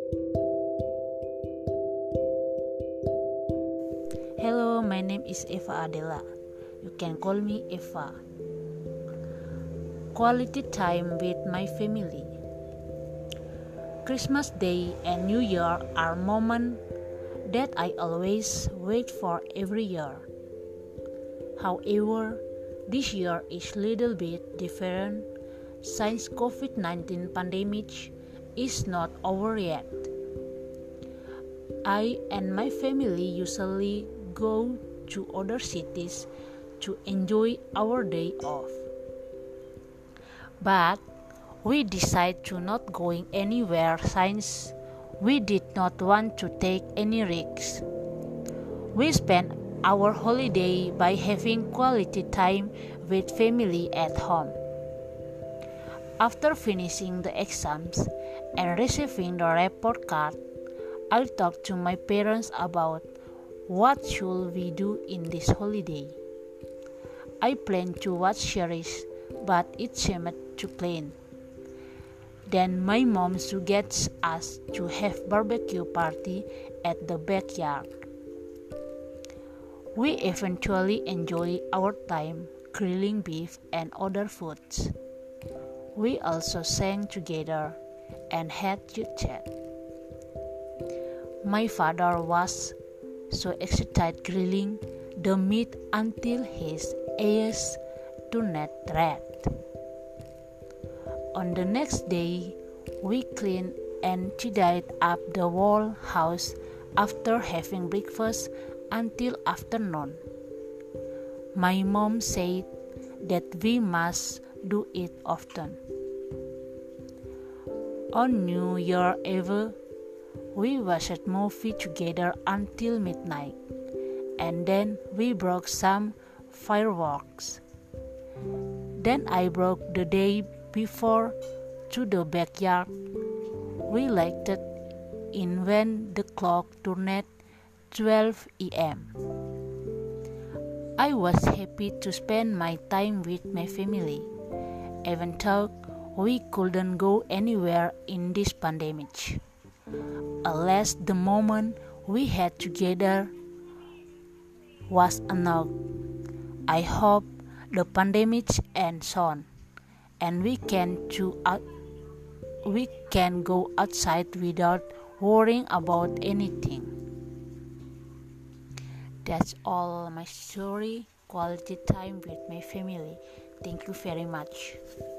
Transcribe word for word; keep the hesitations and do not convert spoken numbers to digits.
Hello, my name is Eva Adela. You can call me Eva. Quality time with my family. Christmas Day and New Year are moments that I always wait for every year. However, this year is little bit different since covid nineteen pandemic is not over yet. I and my family usually go to other cities to enjoy our day off. But we decided to not going anywhere since we did not want to take any risks. We spent our holiday by having quality time with family at home. After finishing the exams and receiving the report card, I talked to my parents about what should we do in this holiday. I planned to watch series, but it seemed too plain. Then my mom suggests us to have barbecue party at the backyard. We eventually enjoy our time grilling beef and other foods. We also sang together and had chit chat. My father was so excited grilling the meat until his eyes turned red. On the next day, we cleaned and tidied up the whole house after having breakfast until afternoon. My mom said that we must do it often. On New Year Eve, we watched movie together until midnight, and then we broke some fireworks. Then I broke the day before to the backyard. We lighted in when the clock turned twelve a.m. I was happy to spend my time with my family, even though we couldn't go anywhere in this pandemic. Alas, the moment we had together was enough. I hope the pandemic ends soon, and we can to out, we can go outside without worrying about anything. That's all my story. Quality time with my family. Thank you very much.